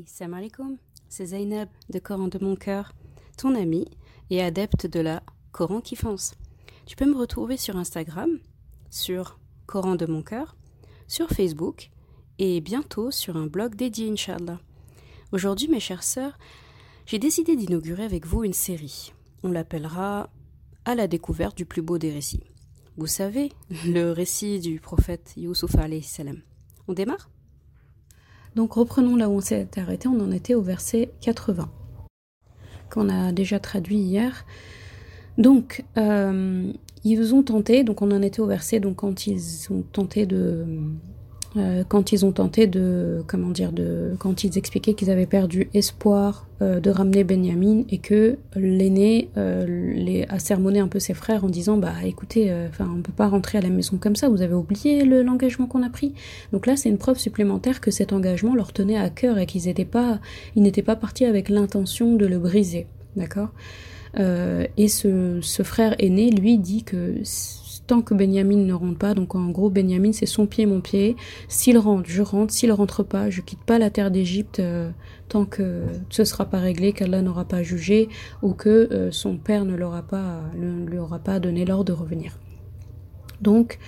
Salam alaikum, c'est Zainab de Coran de mon cœur, ton amie et adepte de la Coran qui fonce. Tu peux me retrouver sur Instagram, sur Coran de mon cœur, sur Facebook et bientôt sur un blog dédié, Inch'Allah. Aujourd'hui, mes chères sœurs, j'ai décidé d'inaugurer avec vous une série. On l'appellera « À la découverte du plus beau des récits ». Vous savez, le récit du prophète Youssouf alayhi salam. On démarre ? Donc reprenons là où on s'est arrêté, on en était au verset 80, qu'on a déjà traduit hier. Donc, ils ont tenté, donc on en était au verset, donc quand ils expliquaient qu'ils avaient perdu espoir de ramener Benyamin et que l'aîné a sermonné un peu ses frères en disant écoutez, on peut pas rentrer à la maison comme ça, vous avez oublié l'engagement qu'on a pris. Donc là c'est une preuve supplémentaire que cet engagement leur tenait à cœur et qu'ils n'étaient pas partis avec l'intention de le briser, d'accord. Et ce frère aîné lui dit que tant que Benyamin ne rentre pas, donc en gros Benyamin c'est son pied mon pied, s'il rentre je rentre, s'il rentre pas je quitte pas la terre d'Égypte tant que ce sera pas réglé, qu'Allah n'aura pas jugé ou que son père ne lui aura pas donné l'ordre de revenir. Donc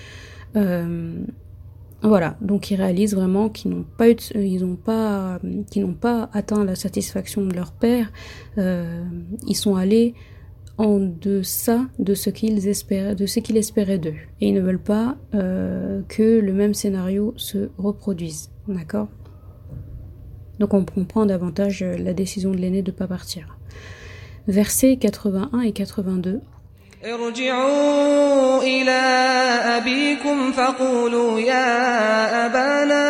voilà, donc ils réalisent vraiment qu'ils n'ont pas atteint la satisfaction de leur père, ils sont allés en deçà de ce qu'il espérait d'eux. Et ils ne veulent pas que le même scénario se reproduise. D'accord ? Donc on comprend davantage la décision de l'aîné de ne pas partir. Versets 81 et 82. ارجعوا إلى أبيكم فقولوا يا أبانا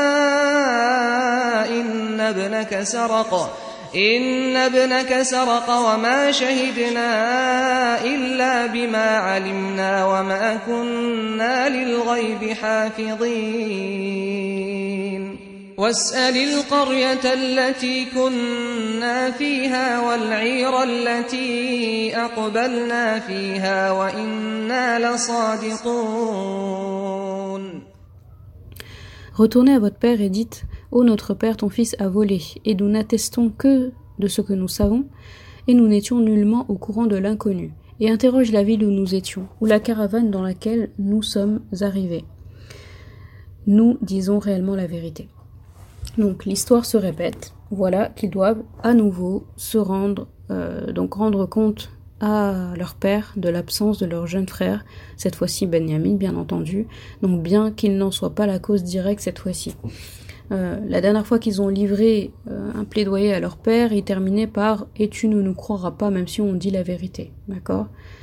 إن ابنك سرق وما شهدنا إلا بما علمنا وما كنا للغيب حافظين واسأل القرية التي كنا فيها والعير التي أقبلنا فيها وإنا لصادقون. Retournez à votre père et dites « Ô notre père, ton fils a volé, et nous n'attestons que de ce que nous savons, et nous n'étions nullement au courant de l'inconnu. Et interroge la ville où nous étions, ou la caravane dans laquelle nous sommes arrivés. Nous disons réellement la vérité. » Donc l'histoire se répète, voilà qu'ils doivent à nouveau se rendre compte à leur père de l'absence de leur jeune frère, cette fois-ci Benyamin bien entendu, donc bien qu'il n'en soit pas la cause directe cette fois-ci. La dernière fois qu'ils ont livré un plaidoyer à leur père, il terminait par « et tu ne nous croiras pas même si on dit la vérité », d'accord.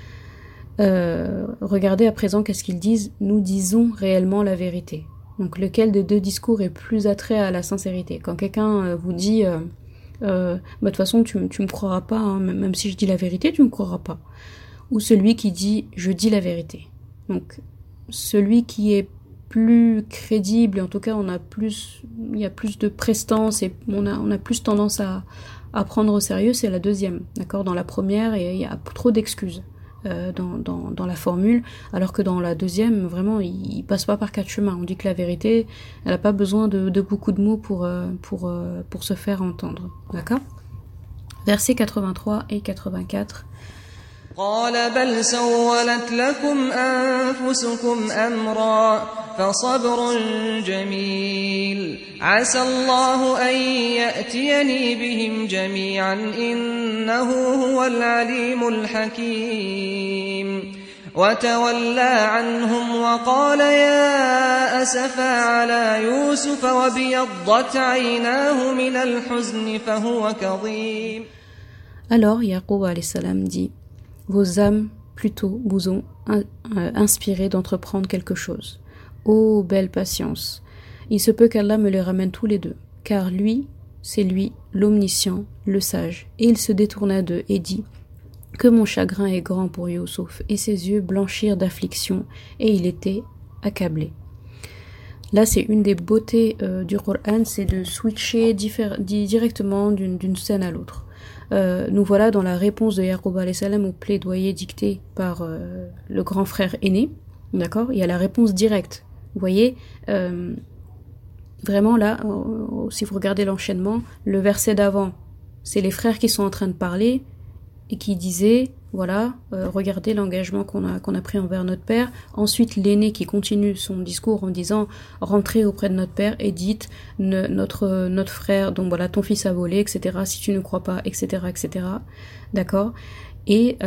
Regardez à présent qu'est-ce qu'ils disent, nous disons réellement la vérité. Donc lequel des deux discours est plus attrait à la sincérité? Quand quelqu'un vous dit de toute façon tu me croiras pas, hein, même si je dis la vérité tu me croiras pas, ou celui qui dit je dis la vérité. Donc celui qui est plus crédible, en tout cas il y a plus de prestance et on a plus tendance à prendre au sérieux, c'est la deuxième, d'accord. Dans la première il y a trop d'excuses dans la formule, alors que dans la deuxième vraiment il passe pas par quatre chemins. On dit que la vérité elle a pas besoin de beaucoup de mots pour se faire entendre, d'accord. Versets 83 et 84. قال بل سولت لكم أنفسكم أمرا فصبر جميل عسى الله أن يأتيني بهم جميعا إنه هو العليم الحكيم وتولى عنهم وقال يا أسفا على يوسف وابيضت عيناه من الحزن فهو كظيم. Alors Yaqub alayhi salam dit: vos âmes plutôt vous ont inspiré d'entreprendre quelque chose. Ô belle patience, il se peut qu'Allah me les ramène tous les deux, car lui, c'est lui, l'omniscient, le sage. Et il se détourna d'eux et dit: que mon chagrin est grand pour Youssouf, et ses yeux blanchirent d'affliction, et il était accablé. Là, c'est une des beautés du Coran, c'est de switcher directement d'une scène à l'autre. Nous voilà dans la réponse de Yaqub alayhi salam au plaidoyer dicté par le grand frère aîné, d'accord. Il y a la réponse directe. Vous voyez, Vraiment là, si vous regardez l'enchaînement, le verset d'avant, c'est les frères qui sont en train de parler et qui disaient, voilà, regardez l'engagement qu'on a pris envers notre père. Ensuite, l'aîné qui continue son discours en disant, rentrez auprès de notre père et dites, notre frère, donc voilà, ton fils a volé, etc. Si tu ne crois pas, etc., etc. D'accord. Et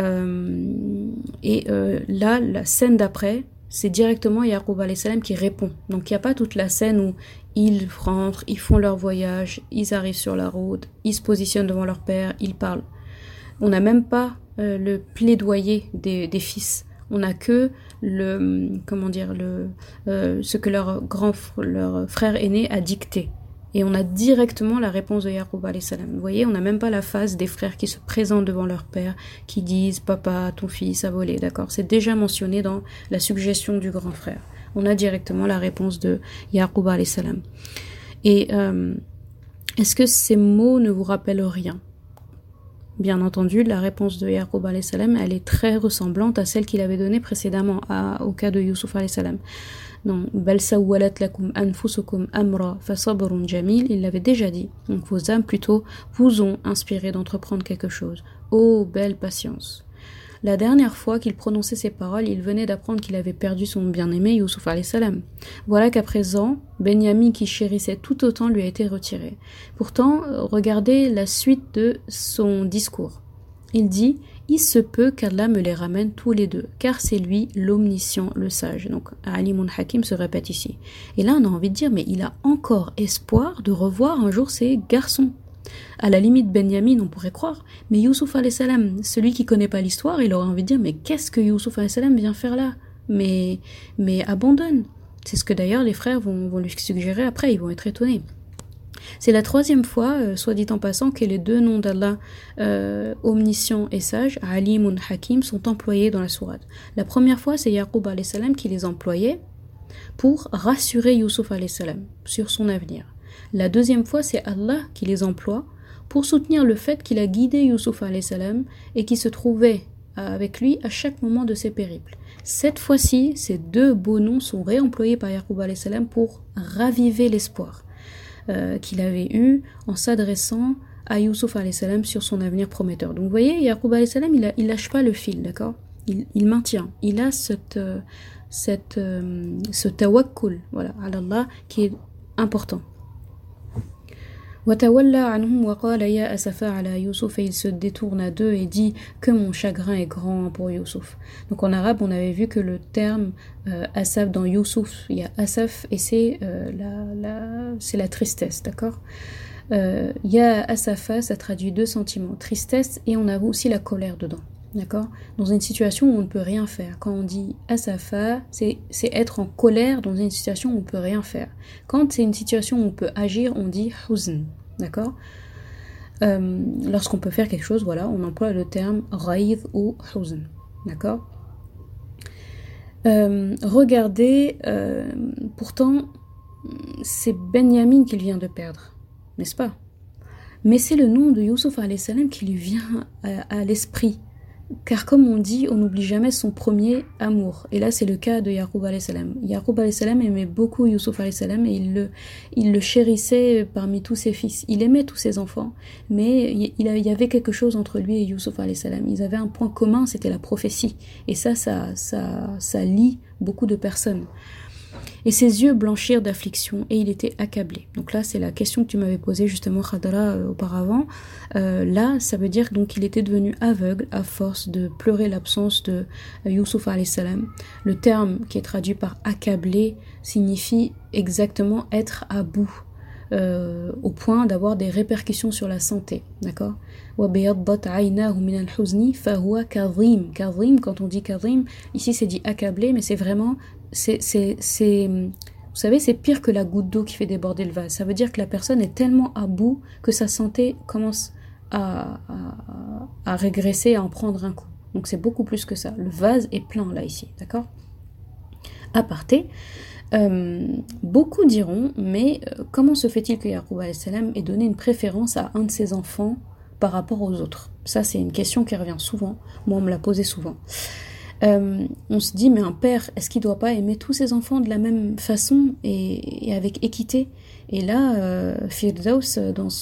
là, la scène d'après, c'est directement Yaqub alayhi salam qui répond. Donc il n'y a pas toute la scène où ils rentrent, ils font leur voyage, ils arrivent sur la route, ils se positionnent devant leur père, ils parlent. On n'a même pas le plaidoyer des fils. On n'a que ce que leur frère aîné a dicté. Et on a directement la réponse de Yaqub alayhi salam. Vous voyez, on n'a même pas la phase des frères qui se présentent devant leur père, qui disent « Papa, ton fils a volé », d'accord. C'est déjà mentionné dans la suggestion du grand frère. On a directement la réponse de Yaqub alayhi salam. Et est-ce que ces mots ne vous rappellent rien? Bien entendu, la réponse de Yaqub alayhi salam, elle est très ressemblante à celle qu'il avait donnée précédemment au cas de Youssouf alayhi salam. Non, bal sawwalat lakum anfusukum amra fa sabrun jamil, il l'avait déjà dit. Donc vos âmes plutôt vous ont inspiré d'entreprendre quelque chose. Oh, belle patience. La dernière fois qu'il prononçait ces paroles, il venait d'apprendre qu'il avait perdu son bien-aimé Youssouf alayhi salam. Voilà qu'à présent, Benyamin qui chérissait tout autant lui a été retiré. Pourtant, regardez la suite de son discours. Il dit « Il se peut qu'Allah me les ramène tous les deux, car c'est lui l'omniscient, le sage. » Donc, Alimun Hakim se répète ici. Et là, on a envie de dire « Mais il a encore espoir de revoir un jour ses garçons. » À la limite, Benyamin, on pourrait croire, mais Youssouf alayhi salam, celui qui connaît pas l'histoire, il aurait envie de dire « Mais qu'est-ce que Youssouf alayhi salam vient faire là ? Mais abandonne !» C'est ce que d'ailleurs les frères vont lui suggérer après, ils vont être étonnés. C'est la troisième fois, soit dit en passant, que les deux noms d'Allah, omniscient et sage, Alimun Hakim, sont employés dans la sourate. La première fois, c'est Yaqub alayhi salam qui les employait pour rassurer Youssouf alayhi salam sur son avenir. La deuxième fois, c'est Allah qui les emploie pour soutenir le fait qu'il a guidé Youssouf alayhi salam et qu'il se trouvait avec lui à chaque moment de ses périples. Cette fois-ci, ces deux beaux noms sont réemployés par Yaqub alayhi salam pour raviver l'espoir qu'il avait eu en s'adressant à Youssouf alayhi salam sur son avenir prometteur. Donc vous voyez, Yaqub alayhi salam, il lâche pas le fil, d'accord, il maintient, il a ce tawakkul, voilà, ala Allah, qui est important. Watawalla anhum wa qala ya asafa ala Youssouf, et il se détourne à d'eux et dit que mon chagrin est grand pour Youssouf. Donc en arabe, on avait vu que le terme asaf dans Youssouf, il y a asaf et c'est la tristesse, d'accord. Ya asafa, ça traduit deux sentiments, tristesse et on a aussi la colère dedans, d'accord. Dans une situation où on ne peut rien faire. Quand on dit asafa, c'est être en colère dans une situation où on ne peut rien faire. Quand c'est une situation où on peut agir, on dit huzn, d'accord. Lorsqu'on peut faire quelque chose, voilà, on emploie le terme raïd ou huzn, d'accord. Regardez, pourtant, c'est Benyamin qu'il vient de perdre, n'est-ce pas? Mais c'est le nom de Youssouf alayhi salam qui lui vient à l'esprit. Car comme on dit, on n'oublie jamais son premier amour. Et là, c'est le cas de Yaqub alayhi salam. Yaqub alayhi salam aimait beaucoup Youssouf alayhi salam et il le chérissait parmi tous ses fils. Il aimait tous ses enfants, mais il y avait quelque chose entre lui et Youssouf alayhi salam. Ils avaient un point commun, c'était la prophétie. Et ça lie beaucoup de personnes. Et ses yeux blanchirent d'affliction et il était accablé. Donc là, c'est la question que tu m'avais posée justement, Khadra, auparavant. Là, ça veut dire donc qu'il était devenu aveugle à force de pleurer l'absence de Youssouf alayhi salam. Le terme qui est traduit par accablé signifie exactement être à bout, au point d'avoir des répercussions sur la santé, d'accord. Kadhim, quand on dit kadhim, ici c'est dit accablé, mais c'est vraiment, vous savez, c'est pire que la goutte d'eau qui fait déborder le vase. Ça veut dire que la personne est tellement à bout que sa santé commence à régresser, à en prendre un coup. Donc c'est beaucoup plus que ça. Le vase est plein là ici, d'accord. Aparté. Beaucoup diront, mais comment se fait-il que Yaqub alayhi salam ait donné une préférence à un de ses enfants par rapport aux autres? Ça, c'est une question qui revient souvent. Moi, on me l'a posé souvent. On se dit, mais un père, est-ce qu'il ne doit pas aimer tous ses enfants de la même façon et avec équité? Et là, Firdaus,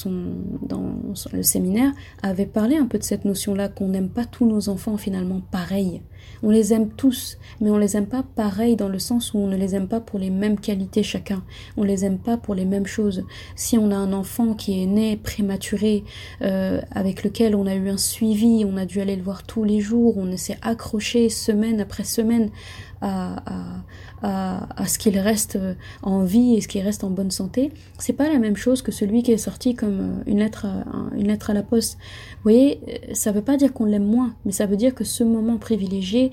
le séminaire, avait parlé un peu de cette notion-là, qu'on n'aime pas tous nos enfants finalement pareils. On les aime tous, mais on les aime pas pareils dans le sens où on ne les aime pas pour les mêmes qualités chacun. On les aime pas pour les mêmes choses. Si on a un enfant qui est né prématuré, avec lequel on a eu un suivi, on a dû aller le voir tous les jours, on s'est accroché semaine après semaine à ce qu'il reste en vie et ce qu'il reste en bonne santé, c'est pas la même chose que celui qui est sorti comme une lettre à la poste. Vous voyez, ça veut pas dire qu'on l'aime moins, mais ça veut dire que ce moment privilégié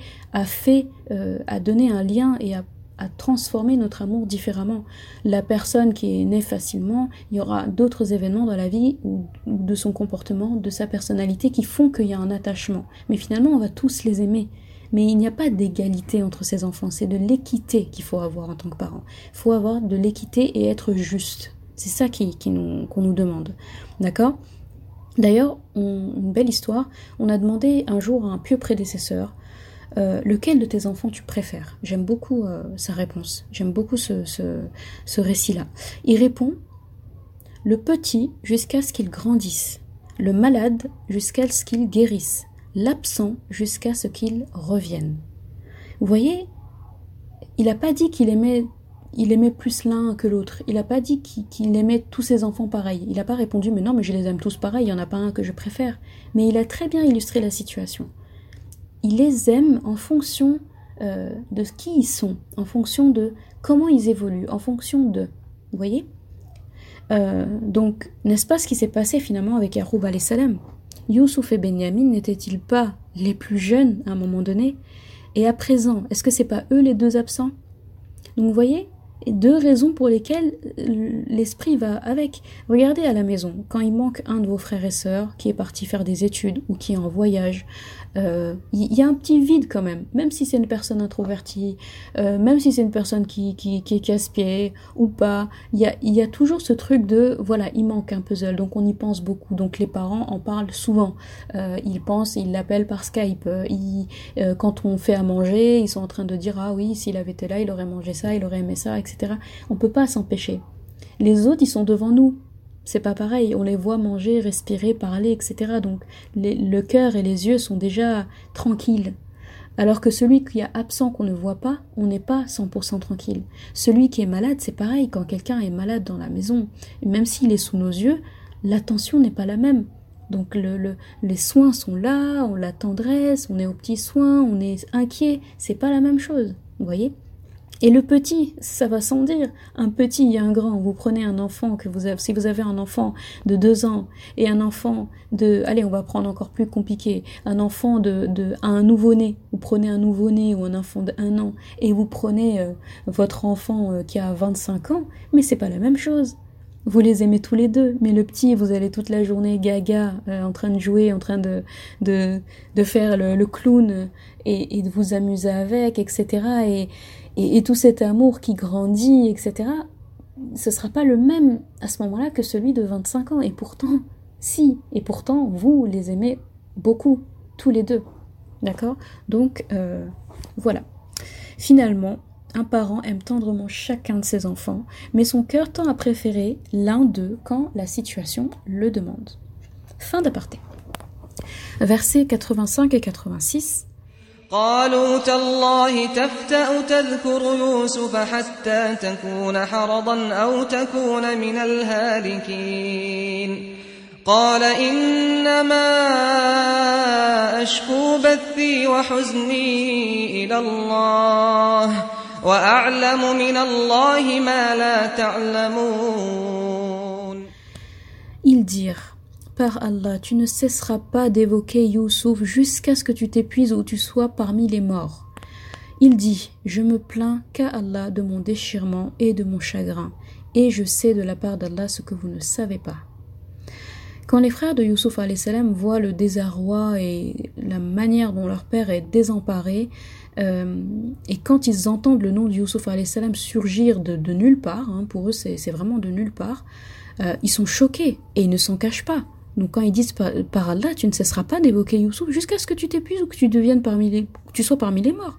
a donné un lien et a transformé notre amour différemment. La personne qui est née facilement, il y aura d'autres événements dans la vie ou de son comportement, de sa personnalité qui font qu'il y a un attachement. Mais finalement, on va tous les aimer. Mais il n'y a pas d'égalité entre ces enfants, c'est de l'équité qu'il faut avoir en tant que parent. Il faut avoir de l'équité et être juste. C'est ça qu'on nous demande. D'accord ? D'ailleurs, une belle histoire, on a demandé un jour à un pieux prédécesseur, lequel de tes enfants tu préfères ? J'aime beaucoup sa réponse, j'aime beaucoup ce récit-là. Il répond, le petit jusqu'à ce qu'il grandisse, le malade jusqu'à ce qu'il guérisse, l'absent jusqu'à ce qu'il revienne. Vous voyez, il n'a pas dit qu'il aimait plus l'un que l'autre. Il n'a pas dit qu'il aimait tous ses enfants pareils. Il n'a pas répondu, mais non, mais je les aime tous pareils, il n'y en a pas un que je préfère. Mais il a très bien illustré la situation. Il les aime en fonction de qui ils sont, en fonction de comment ils évoluent, en fonction de... Vous voyez ? Donc, n'est-ce pas ce qui s'est passé finalement avec Yaroub alayhi salam ? Youssouf et Benyamin n'étaient-ils pas les plus jeunes à un moment donné ? Et à présent, est-ce que c'est pas eux les deux absents ? Donc vous voyez, deux raisons pour lesquelles l'esprit va avec. Regardez à la maison, quand il manque un de vos frères et sœurs qui est parti faire des études ou qui est en voyage, il y a un petit vide quand même si c'est une personne introvertie, même si c'est une personne qui est casse-pied ou pas, il y a toujours ce truc de, voilà, il manque un puzzle, donc on y pense beaucoup, donc les parents en parlent souvent, ils l'appellent par Skype, quand on fait à manger, ils sont en train de dire, ah oui, s'il avait été là, il aurait mangé ça, il aurait aimé ça, etc. On peut pas s'empêcher. Les autres, ils sont devant nous. C'est pas pareil, on les voit manger, respirer, parler, etc. Donc le cœur et les yeux sont déjà tranquilles. Alors que celui qui est absent, qu'on ne voit pas, on n'est pas 100% tranquille. Celui qui est malade, c'est pareil, quand quelqu'un est malade dans la maison, même s'il est sous nos yeux, l'attention n'est pas la même. Donc les soins sont là, on la tendresse, on est aux petits soins, on est inquiet, c'est pas la même chose, vous voyez ? Et le petit, ça va sans dire, un petit et un grand, vous prenez un enfant si vous avez un enfant de 2 ans et un enfant allez, on va prendre encore plus compliqué, un enfant un nouveau-né, vous prenez un nouveau-né ou un enfant d'1 an et vous prenez votre enfant qui a 25 ans, mais c'est pas la même chose. Vous les aimez tous les deux, mais le petit, vous allez toute la journée gaga, en train de jouer, en train de faire le clown et de vous amuser avec, etc. Et tout cet amour qui grandit, etc., ce sera pas le même à ce moment-là que celui de 25 ans. Et pourtant, vous les aimez beaucoup, tous les deux. D'accord ? Donc, voilà. Finalement, un parent aime tendrement chacun de ses enfants, mais son cœur tend à préférer l'un d'eux quand la situation le demande. Fin d'aparté. Versets 85 et 86. قالوا تالله تفتأ تذكر يوسف حتى تكون حرضا أو تكون من الهالكين قال إنما أشكو بثي وحزني إلى الله وأعلم من الله ما لا تعلمون. Ils dirent, par Allah, tu ne cesseras pas d'évoquer Youssouf jusqu'à ce que tu t'épuises ou tu sois parmi les morts. Il dit, je me plains qu'à Allah de mon déchirement et de mon chagrin, et je sais de la part d'Allah ce que vous ne savez pas. Quand les frères de Youssouf alayhi salam voient le désarroi et la manière dont leur père est désemparé, et quand ils entendent le nom de Youssouf alayhi salam surgir de nulle part, pour eux c'est vraiment de nulle part, ils sont choqués et ils ne s'en cachent pas. Donc quand ils disent par Allah, tu ne cesseras pas d'évoquer Youssouf jusqu'à ce que tu t'épuises ou que tu sois parmi les morts.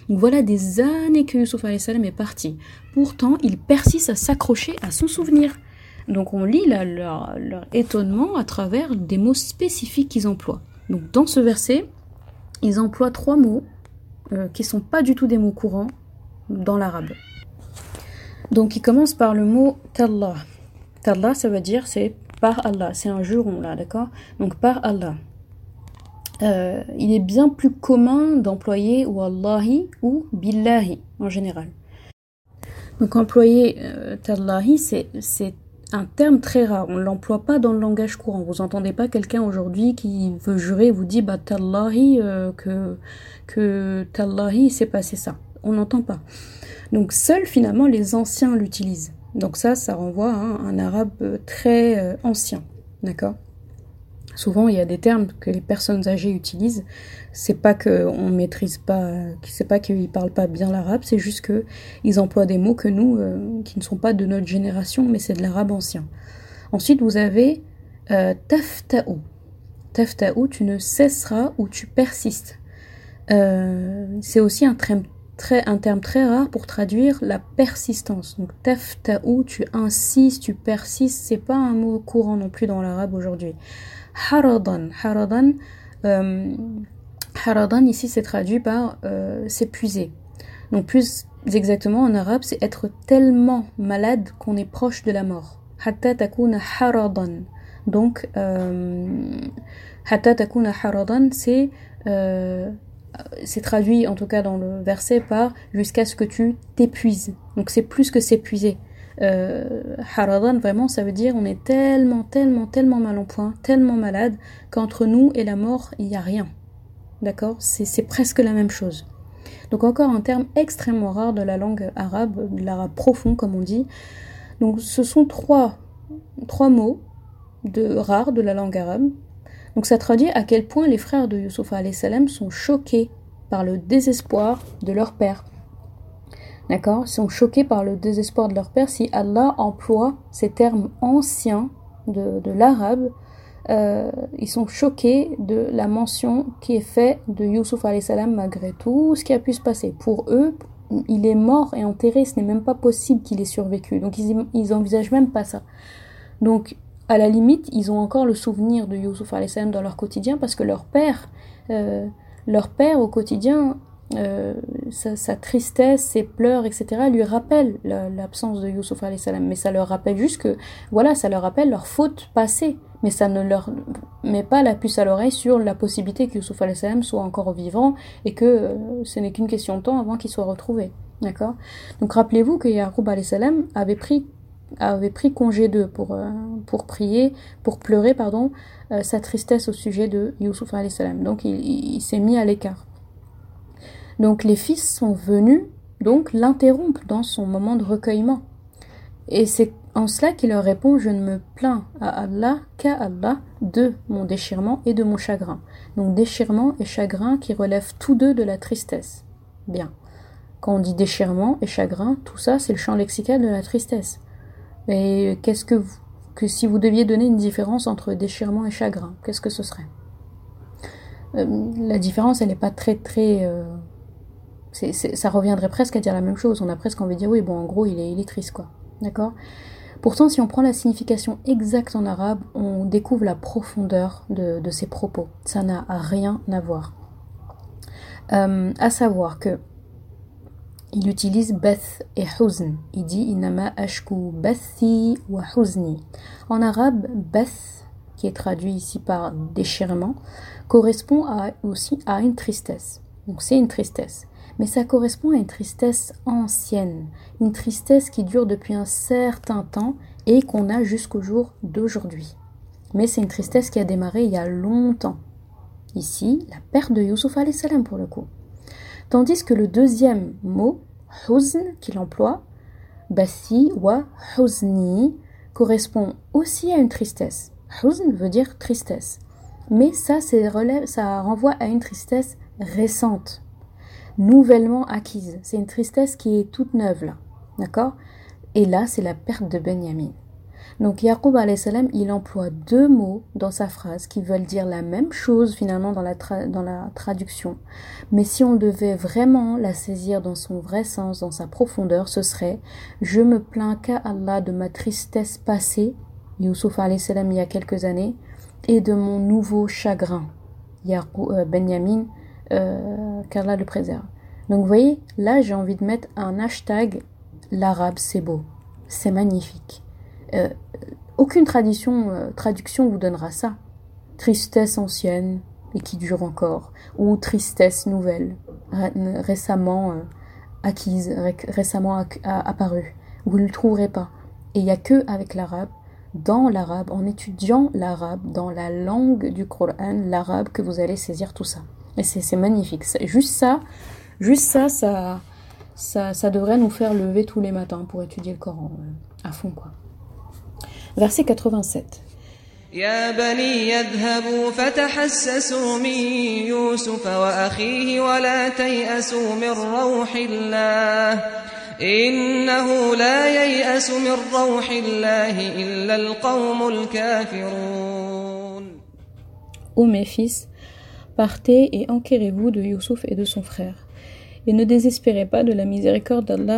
Donc voilà des années que Yusuf alayhi salam est parti. Pourtant, il persiste à s'accrocher à son souvenir. Donc on lit leur étonnement à travers des mots spécifiques qu'ils emploient. Donc dans ce verset, ils emploient 3 mots qui ne sont pas du tout des mots courants dans l'arabe. Donc ils commencent par le mot tallah. Tallah, ça veut dire c'est par Allah, c'est un juron là, d'accord? Donc par Allah. Il est bien plus commun d'employer wallahi ou billahi en général. Donc employer tallahi, c'est un terme très rare, on ne l'emploie pas dans le langage courant. Vous n'entendez pas quelqu'un aujourd'hui qui veut jurer, vous dit bah tallahi, que tallahi s'est passé ça. On n'entend pas. Donc seuls finalement les anciens l'utilisent. Donc ça renvoie à un arabe très ancien, d'accord? Souvent, il y a des termes que les personnes âgées utilisent. C'est pas qu'on maîtrise pas, c'est pas qu'ils parlent pas bien l'arabe, c'est juste que ils emploient des mots que nous, qui ne sont pas de notre génération, mais c'est de l'arabe ancien. Ensuite, vous avez tafta'u. Tafta'u, tu ne cesseras ou tu persistes. C'est aussi un terme très rare pour traduire la persistance. Donc tafta'u, tu insistes, tu persistes. C'est pas un mot courant non plus dans l'arabe aujourd'hui. Haradan ici c'est traduit par s'épuiser. Donc plus exactement en arabe c'est être tellement malade qu'on est proche de la mort. Hatta takuna haradan. Donc hatta takuna haradan c'est traduit en tout cas dans le verset par jusqu'à ce que tu t'épuises. Donc c'est plus que s'épuiser. Haradan, vraiment ça veut dire on est tellement mal en point, tellement malade qu'entre nous et la mort il n'y a rien, d'accord, c'est presque la même chose. Donc encore un terme extrêmement rare de la langue arabe, de l'arabe profond comme on dit. Donc ce sont trois mots rares de la langue arabe. Donc ça traduit à quel point les frères de Yusuf alayhi salam sont choqués par le désespoir de leur père. D'accord, sont choqués par le désespoir de leur père. Si Allah emploie ces termes anciens de l'arabe, ils sont choqués de la mention qui est faite de Yusuf alayhi salam malgré tout ce qui a pu se passer. Pour eux, il est mort et enterré, ce n'est même pas possible qu'il ait survécu. Donc ils envisagent même pas ça. Donc à la limite, ils ont encore le souvenir de Yusuf alayhi salam dans leur quotidien parce que leur père au quotidien, sa tristesse, ses pleurs, etc. lui rappellent l'absence de Yusuf alayhi salam. Mais ça leur rappelle juste que, voilà, ça leur rappelle leur faute passée. Mais ça ne leur met pas la puce à l'oreille sur la possibilité que Yusuf alayhi salam soit encore vivant et que ce n'est qu'une question de temps avant qu'il soit retrouvé. D'accord ? Donc rappelez-vous que Yaqub alayhi salam avait pris congé d'eux pour prier, pour pleurer, sa tristesse au sujet de Yusuf alayhi salam. Donc il s'est mis à l'écart. Donc les fils sont venus donc l'interrompre dans son moment de recueillement. Et c'est en cela qu'il leur répond: je ne me plains à Allah qu'à Allah de mon déchirement et de mon chagrin. Donc déchirement et chagrin qui relèvent tous deux de la tristesse. Bien. Quand on dit déchirement et chagrin, tout ça c'est le champ lexical de la tristesse. Et qu'est-ce que si vous deviez donner une différence entre déchirement et chagrin, qu'est-ce que ce serait ? La différence elle n'est pas très ça reviendrait presque à dire la même chose. On a presque envie de dire oui, bon, en gros, il est triste, quoi. D'accord ? Pourtant, si on prend la signification exacte en arabe, on découvre la profondeur de ses propos. Ça n'a rien à voir. À savoir que il utilise bath et huzn. Il dit inama ashku bathi wa huzni. En arabe, bath, qui est traduit ici par déchirement, correspond aussi à une tristesse. Donc c'est une tristesse. Mais ça correspond à une tristesse ancienne, une tristesse qui dure depuis un certain temps et qu'on a jusqu'au jour d'aujourd'hui. Mais c'est une tristesse qui a démarré il y a longtemps. Ici, la perte de Yusuf alayhi salam pour le coup. Tandis que le deuxième mot, huzn, qu'il emploie, bathi wa huzni, correspond aussi à une tristesse. Huzn veut dire tristesse. Mais ça renvoie à une tristesse récente, nouvellement acquise. C'est une tristesse qui est toute neuve là, d'accord ? Et là, c'est la perte de Benyamin. Donc Yaqub alayhi salam, il emploie deux mots dans sa phrase qui veulent dire la même chose finalement dans la traduction. Mais si on devait vraiment la saisir dans son vrai sens, dans sa profondeur, ce serait « Je me plains qu'à Allah de ma tristesse passée » Youssouf alayhi salam il y a quelques années, et de mon nouveau chagrin, Benyamin, qu'Allah le préserve. Donc vous voyez, là j'ai envie de mettre un hashtag, l'arabe c'est beau, c'est magnifique. Aucune traduction vous donnera ça. Tristesse ancienne et qui dure encore, ou tristesse nouvelle, récemment acquise, récemment apparue. Vous ne le trouverez pas. Et il n'y a que avec l'arabe, dans l'arabe, en étudiant l'arabe, dans la langue du Coran, l'arabe, que vous allez saisir tout ça. Et c'est magnifique. Juste ça devrait nous faire lever tous les matins pour étudier le Coran à fond, quoi. Verset 87. يا بني يذهبوا فتحسسوا من يوسف وأخيه ولا تيأسوا من روح الله إنه لا ييأس من روح الله إلا القوم الكافرون. Ô mes fils, partez et enquérez-vous de Youssouf et de son frère, et ne désespérez pas de la miséricorde d'Allah.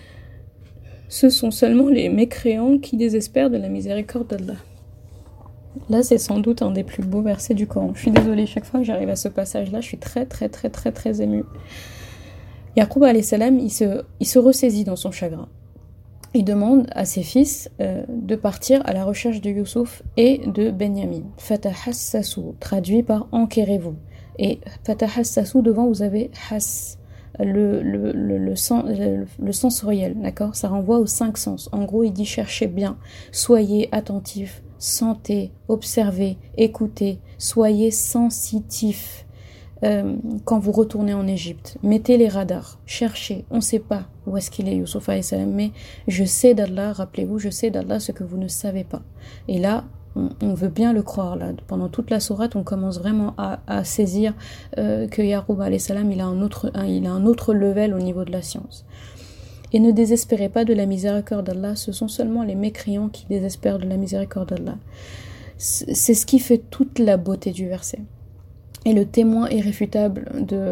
Ce sont seulement les mécréants qui désespèrent de la miséricorde d'Allah. Là, c'est sans doute un des plus beaux versets du Coran. Je suis désolée, chaque fois que j'arrive à ce passage-là, je suis très émue. Yaqub alayhi salam, il se ressaisit dans son chagrin. Il demande à ses fils de partir à la recherche de Youssouf et de Benyamin. Fatahassasu, traduit par enquérez-vous. Et fatahassasu, devant vous avez has, le sensoriel, d'accord? Ça renvoie aux 5 sens. En gros, il dit cherchez bien, soyez attentifs, sentez, observez, écoutez, soyez sensitifs. Quand vous retournez en Égypte, mettez les radars, cherchez, on ne sait pas où est-ce qu'il est Youssouf alayhi salam, mais je sais d'Allah, rappelez-vous, je sais d'Allah ce que vous ne savez pas. Et là, on veut bien le croire, là. Pendant toute la sourate, on commence vraiment à saisir que Yaqub alayhi salam, il a un autre level au niveau de la science. Et ne désespérez pas de la miséricorde d'Allah, ce sont seulement les mécréants qui désespèrent de la miséricorde d'Allah. C'est ce qui fait toute la beauté du verset. Et le témoin irréfutable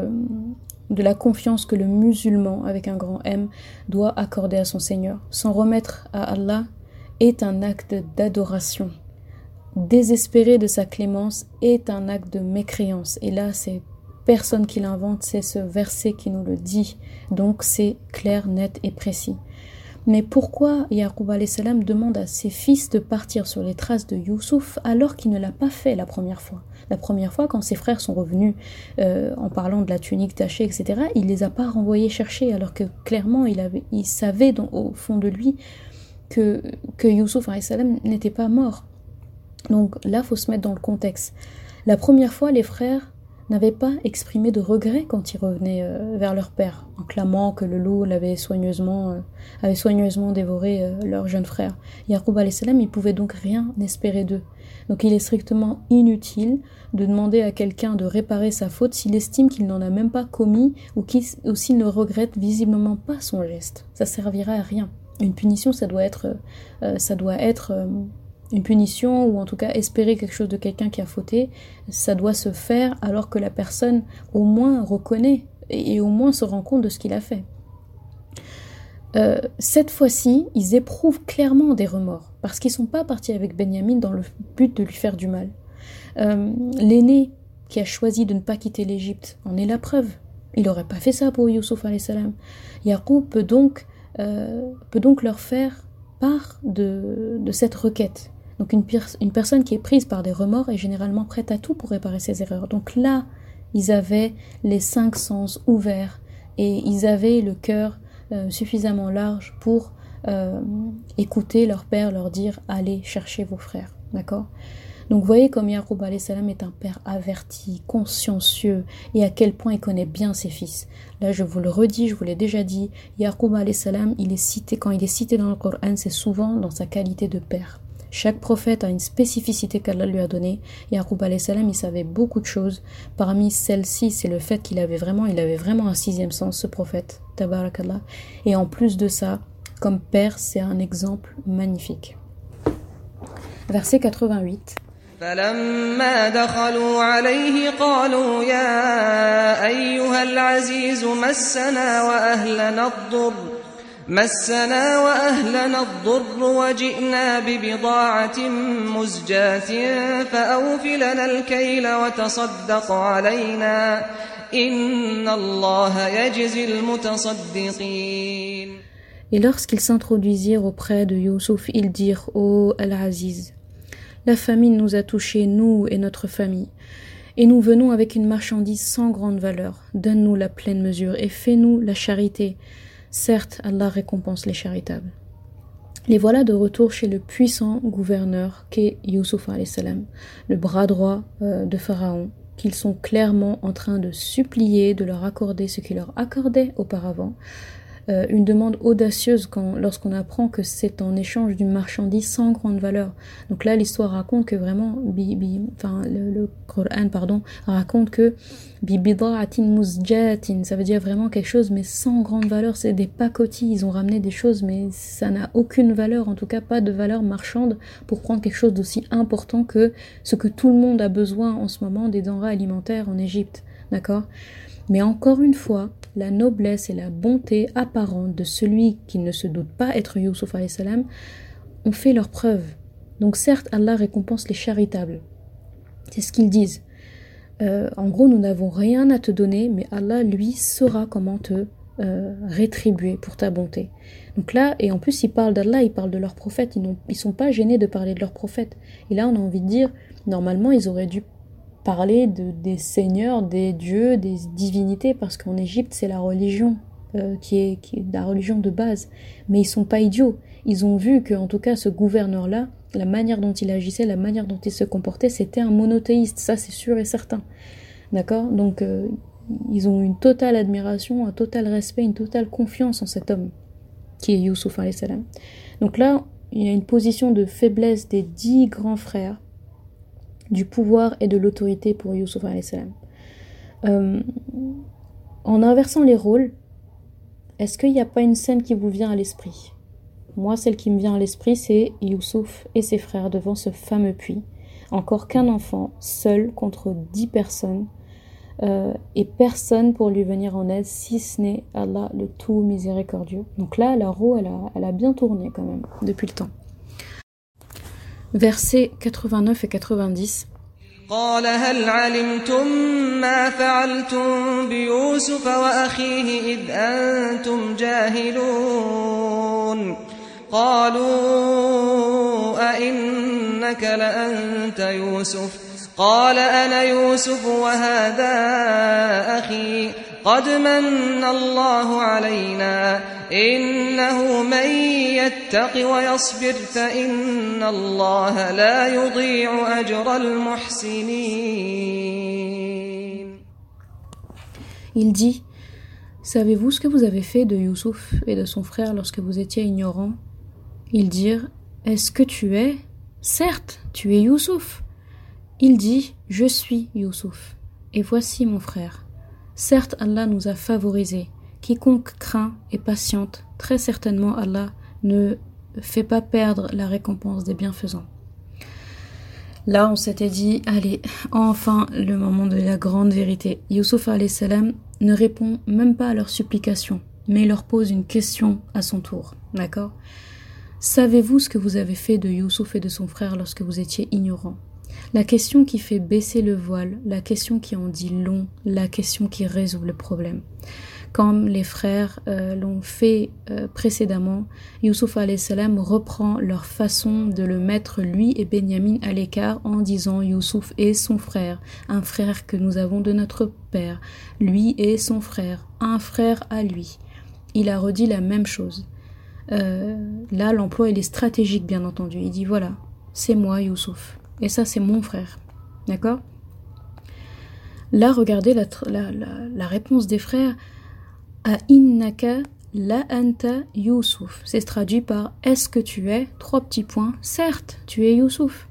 de la confiance que le musulman, avec un grand M, doit accorder à son Seigneur. S'en remettre à Allah est un acte d'adoration. Désespérer de sa clémence est un acte de mécréance. Et là, c'est personne qui l'invente, c'est ce verset qui nous le dit. Donc c'est clair, net et précis. Mais pourquoi Yaqub alayhi salam demande à ses fils de partir sur les traces de Youssouf alors qu'il ne l'a pas fait la première fois? La première fois, quand ses frères sont revenus en parlant de la tunique tachée, etc., il les a pas renvoyés chercher alors que clairement il savait au fond de lui que Youssouf alayhi salam n'était pas mort. Donc là, faut se mettre dans le contexte. La première fois, les frères n'avaient pas exprimé de regret quand ils revenaient vers leur père, en clamant que le loup avait soigneusement dévoré leur jeune frère. Yaqub alayhi salam, il pouvait donc rien espérer d'eux. Donc il est strictement inutile de demander à quelqu'un de réparer sa faute s'il estime qu'il n'en a même pas commis ou s'il ne regrette visiblement pas son geste. Ça servira à rien. Une punition, ça doit être une punition, ou en tout cas espérer quelque chose de quelqu'un qui a fauté, ça doit se faire alors que la personne au moins reconnaît et au moins se rend compte de ce qu'il a fait. Cette fois-ci, ils éprouvent clairement des remords, parce qu'ils ne sont pas partis avec Benyamin dans le but de lui faire du mal. L'aîné qui a choisi de ne pas quitter l'Égypte en est la preuve. Il n'aurait pas fait ça pour Youssouf alayhi salam. Yaqub peut donc leur faire part de cette requête. Donc une personne qui est prise par des remords est généralement prête à tout pour réparer ses erreurs. Donc là, ils avaient les 5 sens ouverts et ils avaient le cœur suffisamment large pour écouter leur père leur dire « Allez chercher vos frères ». D'accord ? Donc vous voyez comme Yaqub alayhi salam est un père averti, consciencieux, et à quel point il connaît bien ses fils. Là je vous le redis, je vous l'ai déjà dit, Yaqub alayhi salam, quand il est cité dans le Coran, c'est souvent dans sa qualité de père. Chaque prophète a une spécificité qu'Allah lui a donnée. Yaqub alayhi salam, il savait beaucoup de choses. Parmi celles-ci, c'est le fait qu'il avait vraiment un 6e sens, ce prophète. Tabarakallah. Et en plus de ça, comme père, c'est un exemple magnifique. Verset 88. فلما دخلوا عليه قالوا يا أيها العزيز مسنا وأهلنا الضر وجئنا ببضاعة مزجاة فأوف لنا الكيل وتصدق علينا إن الله يجزي المتصدقين. Et lorsqu'ils s'introduisirent auprès de Youssouf, ils dirent « Ô Al-Aziz, la famine nous a touchés, nous et notre famille, et nous venons avec une marchandise sans grande valeur. Donne-nous la pleine mesure et fais-nous la charité. Certes, Allah récompense les charitables. » Les voilà de retour chez le puissant gouverneur qu'est Youssouf alayhi salam, le bras droit de Pharaon, qu'ils sont clairement en train de supplier de leur accorder ce qu'il leur accordait auparavant. Une demande audacieuse lorsqu'on apprend que c'est en échange d'une marchandise sans grande valeur. Donc là, l'histoire raconte que vraiment, le Coran raconte que bida'atin muzjatin, ça veut dire vraiment quelque chose mais sans grande valeur. C'est des pacotilles, ils ont ramené des choses mais ça n'a aucune valeur, en tout cas pas de valeur marchande pour prendre quelque chose d'aussi important que ce que tout le monde a besoin en ce moment, des denrées alimentaires en Égypte, d'accord ? Mais encore une fois, la noblesse et la bonté apparente de celui qui ne se doute pas être Youssouf alayhi salam ont fait leur preuve. Donc certes, Allah récompense les charitables. C'est ce qu'ils disent. En gros, nous n'avons rien à te donner, mais Allah, lui, saura comment te rétribuer pour ta bonté. Donc là, et en plus, ils parlent d'Allah, ils parlent de leur prophète. Ils sont pas gênés de parler de leur prophète. Et là, on a envie de dire, normalement, ils auraient dû parler des seigneurs, des dieux, des divinités, parce qu'en Égypte, c'est la religion qui est la religion de base. Mais ils sont pas idiots. Ils ont vu que, en tout cas, ce gouverneur-là, la manière dont il agissait, la manière dont il se comportait, c'était un monothéiste. Ça, c'est sûr et certain. D'accord ? Donc, ils ont une totale admiration, un total respect, une totale confiance en cet homme, qui est Youssouf alayhi salam. Donc là, il y a une position de faiblesse des 10 grands frères, du pouvoir et de l'autorité pour Youssouf alayhi salam. En inversant les rôles, est-ce qu'il n'y a pas une scène qui vous vient à l'esprit ? Moi, celle qui me vient à l'esprit, c'est Youssouf et ses frères devant ce fameux puits. Encore qu'un enfant, seul contre 10 personnes, et personne pour lui venir en aide, si ce n'est Allah, le tout miséricordieux. Donc là, la roue, elle a bien tourné quand même, depuis le temps. Versets 89 et 90. قال هل علمتم ما فعلتم بيوسف وأخيه إذ أنتم جاهلون قالوا أئنك لأنت يوسف قال أنا يوسف وهذا أخي قد من الله علينا إنه من يتق ويصبر فإن الله لا يضيع أجر المحسنين. Il dit, savez-vous ce que vous avez fait de Youssouf et de son frère lorsque vous étiez ignorants ? Ils dirent, est-ce que tu es ? Certes, tu es Youssouf. Il dit, je suis Youssouf, et voici mon frère. Certes, Allah nous a favorisés. Quiconque craint et patiente, très certainement Allah ne fait pas perdre la récompense des bienfaisants. Là, on s'était dit, allez, enfin le moment de la grande vérité. Youssouf alayhi salam ne répond même pas à leurs supplications, mais il leur pose une question à son tour. D'accord ? Savez-vous ce que vous avez fait de Youssouf et de son frère lorsque vous étiez ignorants ? La question qui fait baisser le voile, la question qui en dit long, la question qui résout le problème. Comme les frères l'ont fait précédemment, Youssouf alayhi salam reprend leur façon de le mettre lui et Benyamin à l'écart en disant Youssouf est son frère, un frère que nous avons de notre père, lui est son frère, un frère à lui. Il a redit la même chose. Là, l'emploi il est stratégique bien entendu. Il dit voilà, c'est moi Youssouf. Et ça, c'est mon frère. D'accord ? Là, regardez la réponse des frères. A innaka la anta Youssouf. C'est traduit par est-ce que tu es ? 3 petits points. Certes, tu es Youssouf.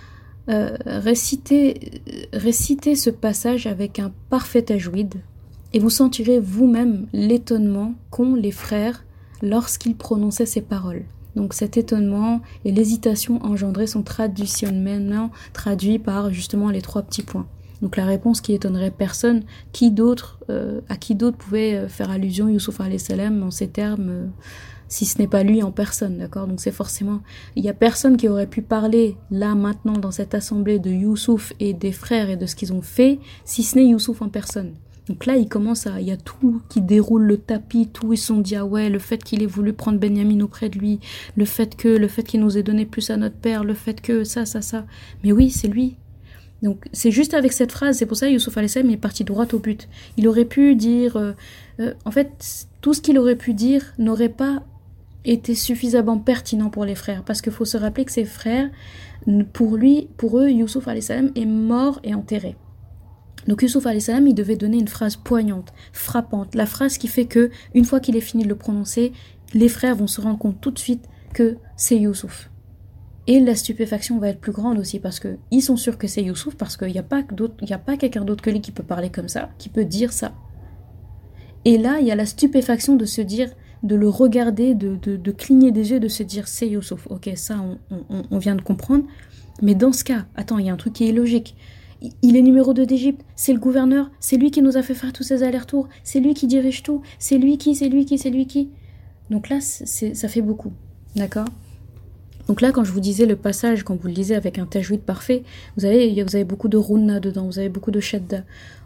Récitez ce passage avec un parfait tajwid et vous sentirez vous-même l'étonnement qu'ont les frères lorsqu'ils prononçaient ces paroles. Donc cet étonnement et l'hésitation engendrée sont traditionnellement traduits par justement les 3 petits points. Donc la réponse qui étonnerait personne, à qui d'autre pouvait faire allusion Youssouf alayhi salam en ces termes, si ce n'est pas lui en personne, d'accord? Donc c'est forcément, il y a personne qui aurait pu parler là maintenant dans cette assemblée de Youssouf et des frères et de ce qu'ils ont fait, si ce n'est Youssouf en personne. Donc là, il y a tout qui déroule le tapis, tout, ils se sont dit, ah ouais, le fait qu'il ait voulu prendre Benyamin auprès de lui, le fait qu'il nous ait donné plus à notre père, le fait que ça. Mais oui, c'est lui. Donc c'est juste avec cette phrase, c'est pour ça que Youssouf alayhi salam est parti droit au but. Il aurait pu dire, en fait, tout ce qu'il aurait pu dire n'aurait pas été suffisamment pertinent pour les frères, parce qu'il faut se rappeler que ses frères, pour eux, Youssouf alayhi salam est mort et enterré. Donc Youssouf alayhi salam, il devait donner une phrase poignante, frappante, la phrase qui fait que, une fois qu'il est fini de le prononcer, les frères vont se rendre compte tout de suite que c'est Youssouf. Et la stupéfaction va être plus grande aussi, parce que ils sont sûrs que c'est Youssouf, parce qu'il n'y a pas quelqu'un d'autre que lui qui peut parler comme ça, qui peut dire ça. Et là, il y a la stupéfaction de se dire, de le regarder, de cligner des yeux, de se dire c'est Youssouf. Ok, ça on vient de comprendre. Mais dans ce cas, attends, il y a un truc qui est illogique. Il est numéro 2 d'Égypte, c'est le gouverneur, c'est lui qui nous a fait faire tous ces allers-retours, c'est lui qui dirige tout, c'est lui qui. Donc là, ça fait beaucoup, d'accord? Donc là, quand je vous disais le passage, quand vous le lisez avec un tajwid parfait, vous avez beaucoup de runna dedans, vous avez beaucoup de shadda.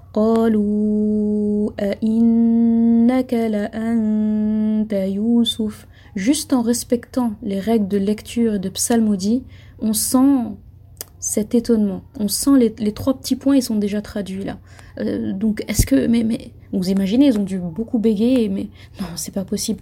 قالوا أئنك لأنت يوسف. Juste en respectant les règles de lecture et de psalmodie, on sent cet étonnement. On sent les 3 petits points, ils sont déjà traduits là. Donc est-ce que... Mais vous imaginez, ils ont dû beaucoup bégayer, mais non, c'est pas possible,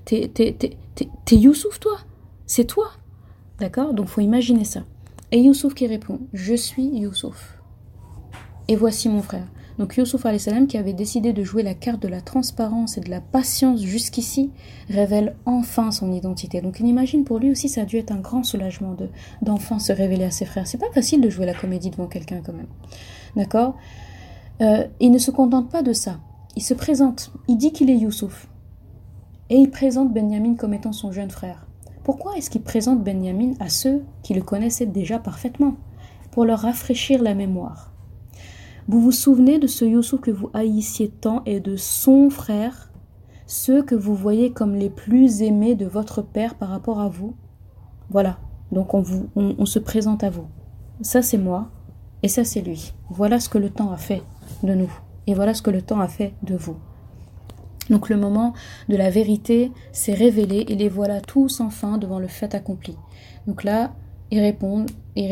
t'es Youssouf toi? C'est toi? D'accord? Donc faut imaginer ça. Et Youssouf qui répond, je suis Youssouf. Et voici mon frère. Donc Youssouf alayhi salam, qui avait décidé de jouer la carte de la transparence et de la patience jusqu'ici, révèle enfin son identité. Donc on imagine, pour lui aussi, ça a dû être un grand soulagement d'enfin se révéler à ses frères. C'est pas facile de jouer la comédie devant quelqu'un quand même. D'accord? Il ne se contente pas de ça. Il se présente, il dit qu'il est Youssouf. Et il présente Benyamin comme étant son jeune frère. Pourquoi est-ce qu'il présente Benyamin à ceux qui le connaissaient déjà parfaitement? Pour leur rafraîchir la mémoire. Vous vous souvenez de ce Youssouf que vous haïssiez tant et de son frère, ceux que vous voyez comme les plus aimés de votre père par rapport à vous? Voilà, donc on se présente à vous. Ça c'est moi et ça c'est lui. Voilà ce que le temps a fait de nous et voilà ce que le temps a fait de vous. Donc le moment de la vérité s'est révélé et les voilà tous enfin devant le fait accompli. Donc là, il répond,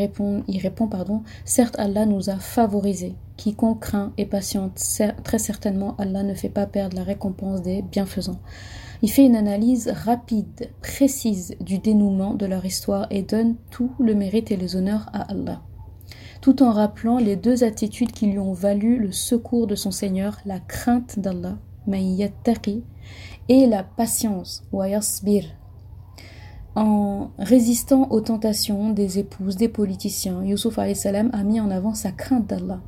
certes Allah nous a favorisés. Quiconque craint et patiente, très certainement Allah ne fait pas perdre la récompense des bienfaisants. Il fait une analyse rapide, précise du dénouement de leur histoire et donne tout le mérite et les honneurs à Allah. Tout en rappelant les 2 attitudes qui lui ont valu le secours de son Seigneur, la crainte d'Allah, ma'iyattaqi, et la patience, wa yasbir. En résistant aux tentations des épouses, des politiciens, Youssouf alayhi salam a mis en avant sa crainte d'Allah.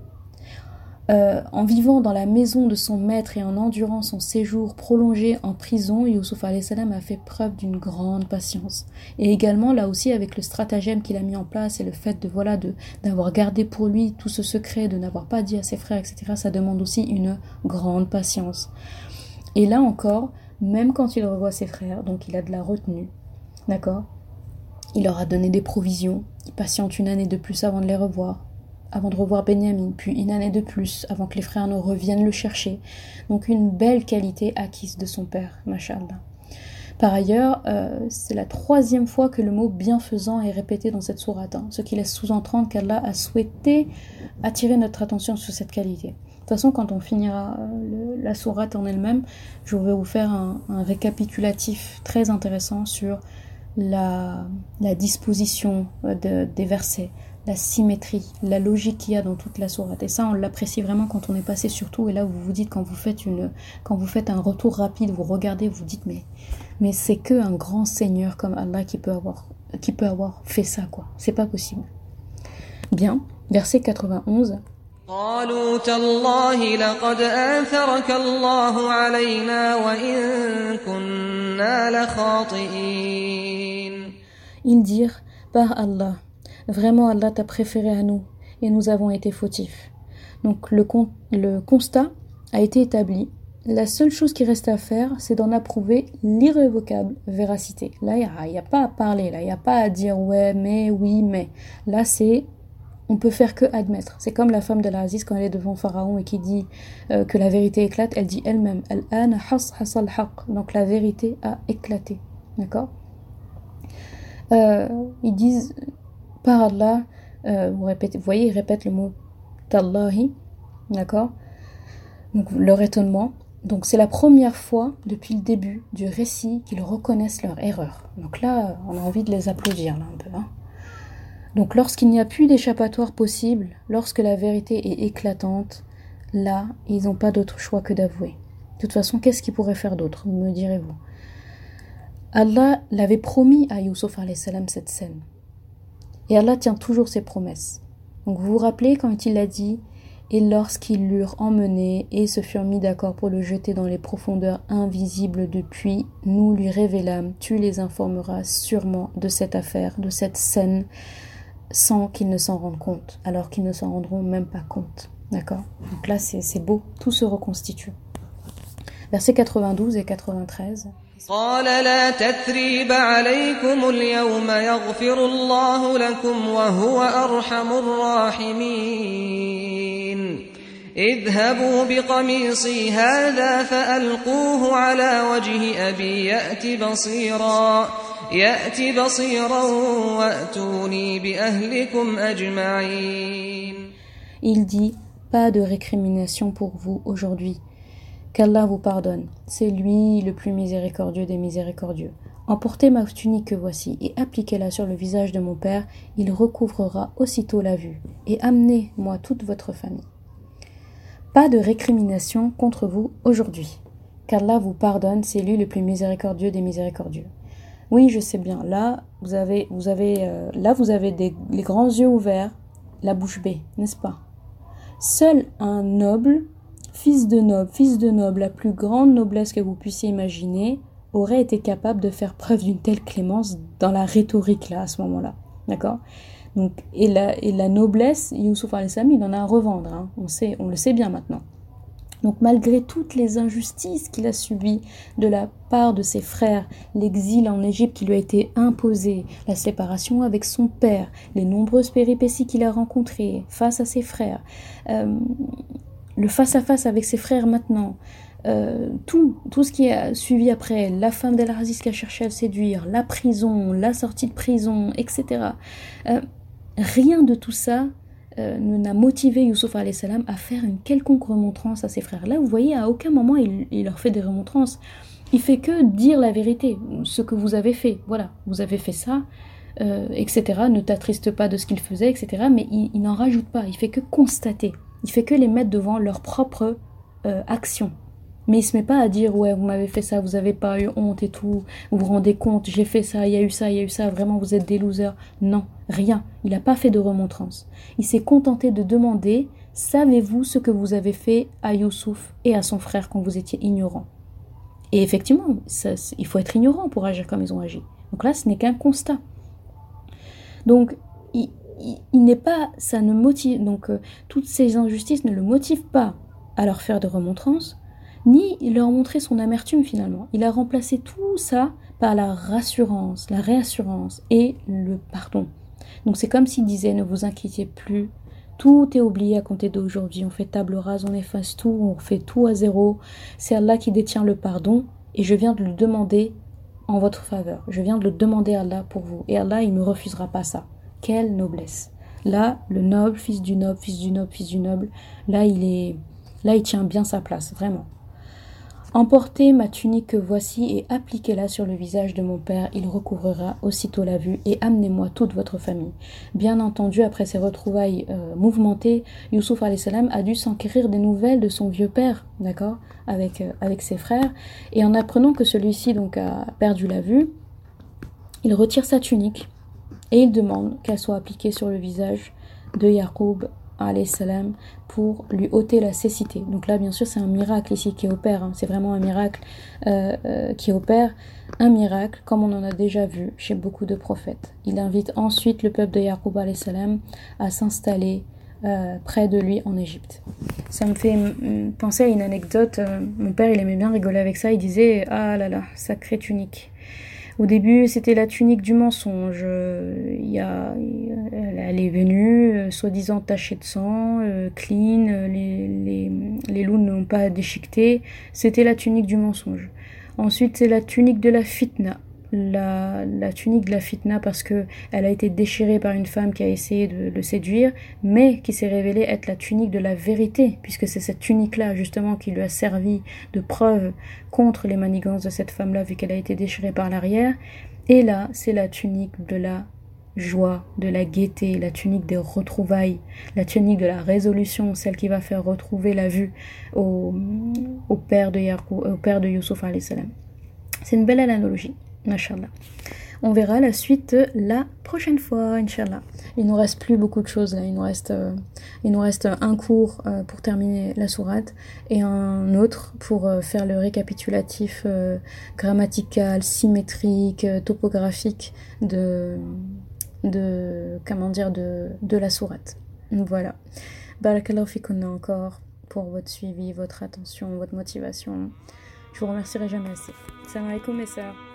En vivant dans la maison de son maître et en endurant son séjour prolongé en prison, Youssouf alayhi salam a fait preuve d'une grande patience. Et également, là aussi, avec le stratagème qu'il a mis en place et le fait d'avoir gardé pour lui tout ce secret, de n'avoir pas dit à ses frères, etc., ça demande aussi une grande patience. Et là encore, même quand il revoit ses frères, donc il a de la retenue, d'accord? Il leur a donné des provisions, il patiente une année de plus avant de les revoir. Avant de revoir Benyamin, puis une année de plus, avant que les frères ne reviennent le chercher. Donc une belle qualité acquise de son père, mashallah. Par ailleurs, c'est la 3e fois que le mot bienfaisant est répété dans cette sourate, ce qui laisse sous-entendre qu'Allah a souhaité attirer notre attention sur cette qualité. De toute façon, quand on finira la sourate en elle-même, je vais vous faire un récapitulatif très intéressant sur la disposition des versets, la symétrie, la logique qu'il y a dans toute la sourate. Et ça, on l'apprécie vraiment quand on est passé sur tout. Et là, vous vous dites, quand vous faites un retour rapide, vous regardez, vous dites, mais c'est que un grand Seigneur comme Allah qui peut avoir fait ça, quoi. C'est pas possible. Bien, verset 91. قالوا تالله لقد آثرك الله علينا وإن كنا لخاطئين. Ils dirent, par Allah, vraiment Allah t'a préféré à nous et nous avons été fautifs. Donc le constat a été établi. La seule chose qui reste à faire, c'est d'en approuver l'irrévocable véracité. Là, il n'y a pas à parler, là, il n'y a pas à dire ouais, mais, oui, mais. Là, on peut faire que admettre. C'est comme la femme d'Al-Aziz quand elle est devant Pharaon et qui dit que la vérité éclate, elle dit elle-même, Al-an hasal haq. Donc la vérité a éclaté. D'accord? Ils disent, par Allah, vous voyez, ils répètent le mot Tallahi, d'accord? Donc leur étonnement. Donc c'est la première fois depuis le début du récit qu'ils reconnaissent leur erreur. Donc là, on a envie de les applaudir là un peu. Hein. Donc lorsqu'il n'y a plus d'échappatoire possible, lorsque la vérité est éclatante, là, ils n'ont pas d'autre choix que d'avouer. De toute façon, qu'est-ce qu'ils pourraient faire d'autre, me direz-vous? Allah l'avait promis à Youssouf alayhi salam cette scène. Et Allah tient toujours ses promesses. Donc vous vous rappelez quand il a dit « Et lorsqu'ils l'eurent emmené et se furent mis d'accord pour le jeter dans les profondeurs invisibles de puits, nous lui révélâmes, tu les informeras sûrement de cette affaire, de cette scène, sans qu'ils ne s'en rendent compte, alors qu'ils ne s'en rendront même pas compte. » D'accord? Donc là c'est beau, tout se reconstitue. Versets 92 et 93. قال لا تثريب عليكم اليوم يغفر الله لكم وهو أرحم الراحمين اذهبوا بقميصي هذا فألقوه على وجه أبي يأت بصيرا وأتوني بأهلكم أجمعين. Il dit, pas de récrimination pour vous aujourd'hui. Qu'Allah vous pardonne, c'est lui le plus miséricordieux des miséricordieux. Emportez ma tunique que voici et appliquez-la sur le visage de mon père, il recouvrera aussitôt la vue. Et amenez-moi toute votre famille. Pas de récrimination contre vous aujourd'hui. Qu'Allah vous pardonne, c'est lui le plus miséricordieux des miséricordieux. Oui, je sais bien, là vous avez les grands yeux ouverts, la bouche bée, n'est-ce pas? Seul un noble, fils de noble, la plus grande noblesse que vous puissiez imaginer, aurait été capable de faire preuve d'une telle clémence dans la rhétorique là, à ce moment-là. D'accord? Donc, et la noblesse, Youssouf alayhi salam, il en a à revendre, hein. On le sait bien maintenant. Donc malgré toutes les injustices qu'il a subies de la part de ses frères, l'exil en Égypte qui lui a été imposé, la séparation avec son père, les nombreuses péripéties qu'il a rencontrées face à ses frères, le face-à-face avec ses frères maintenant, tout ce qui a suivi après, la femme d'Al-Aziz qui a cherché à le séduire, la prison, la sortie de prison, etc. Rien de tout ça n'a motivé Youssouf alayhi salam à faire une quelconque remontrance à ses frères. Là, vous voyez, à aucun moment il leur fait des remontrances. Il fait que dire la vérité, ce que vous avez fait. Voilà, vous avez fait ça, etc. Ne t'attriste pas de ce qu'il faisait, etc. Mais il n'en rajoute pas, il fait que constater. Il fait que les mettre devant leur propre action. Mais il se met pas à dire ouais, vous m'avez fait ça, vous avez pas eu honte et tout, vous vous rendez compte, j'ai fait ça, il y a eu ça, vraiment vous êtes des losers. Non, rien. Il n'a pas fait de remontrance. Il s'est contenté de demander, savez-vous ce que vous avez fait à Youssouf et à son frère quand vous étiez ignorants? Et effectivement, il faut être ignorant pour agir comme ils ont agi. Donc là, ce n'est qu'un constat. Donc, il n'est pas, ça ne motive, donc toutes ces injustices ne le motivent pas à leur faire de remontrances, ni leur montrer son amertume finalement. Il a remplacé tout ça par la rassurance, la réassurance et le pardon. Donc c'est comme s'il disait, ne vous inquiétez plus, tout est oublié à compter d'aujourd'hui, on fait table rase, on efface tout, on fait tout à zéro, c'est Allah qui détient le pardon et je viens de le demander en votre faveur, je viens de le demander à Allah pour vous et Allah il ne me refusera pas ça. Quelle noblesse! Là, le noble, fils du noble, là il tient bien sa place, vraiment. Emportez ma tunique que voici et appliquez-la sur le visage de mon père, il recouvrira aussitôt la vue et amenez-moi toute votre famille. Bien entendu, après ces retrouvailles mouvementées, Youssouf alayhi salam a dû s'enquérir des nouvelles de son vieux père, d'accord, avec ses frères, et en apprenant que celui-ci donc a perdu la vue, il retire sa tunique et il demande qu'elle soit appliquée sur le visage de Yaqub alayhi salam pour lui ôter la cécité. Donc là, bien sûr, c'est un miracle ici qui opère, c'est vraiment un miracle qui opère, un miracle comme on en a déjà vu chez beaucoup de prophètes. Il invite ensuite le peuple de Yaqub alayhi salam à s'installer près de lui en Égypte. Ça me fait penser à une anecdote. Mon père, il aimait bien rigoler avec ça. Il disait: ah là là, sacrée tunique. Au début, c'était la tunique du mensonge. Elle est venue, soi-disant tachée de sang, clean, les loups n'ont pas déchiqueté. C'était la tunique du mensonge. Ensuite, c'est la tunique de la fitna. La tunique de la fitna parce que elle a été déchirée par une femme qui a essayé de le séduire, mais qui s'est révélée être la tunique de la vérité, puisque c'est cette tunique-là justement qui lui a servi de preuve contre les manigances de cette femme-là, vu qu'elle a été déchirée par l'arrière. Et là, c'est la tunique de la joie, de la gaieté, la tunique des retrouvailles, la tunique de la résolution, celle qui va faire retrouver la vue au père de Youssouf alayhi salam. C'est une belle analogie. Inch'Allah. On verra la suite la prochaine fois, Inch'Allah. Il nous reste plus beaucoup de choses là. Il nous reste un cours pour terminer la sourate et un autre pour faire le récapitulatif grammatical, symétrique, topographique de la sourate. Voilà. Barakallahu fikunna encore pour votre suivi, votre attention, votre motivation. Je vous remercierai jamais assez. Salam alaikum mes sœurs.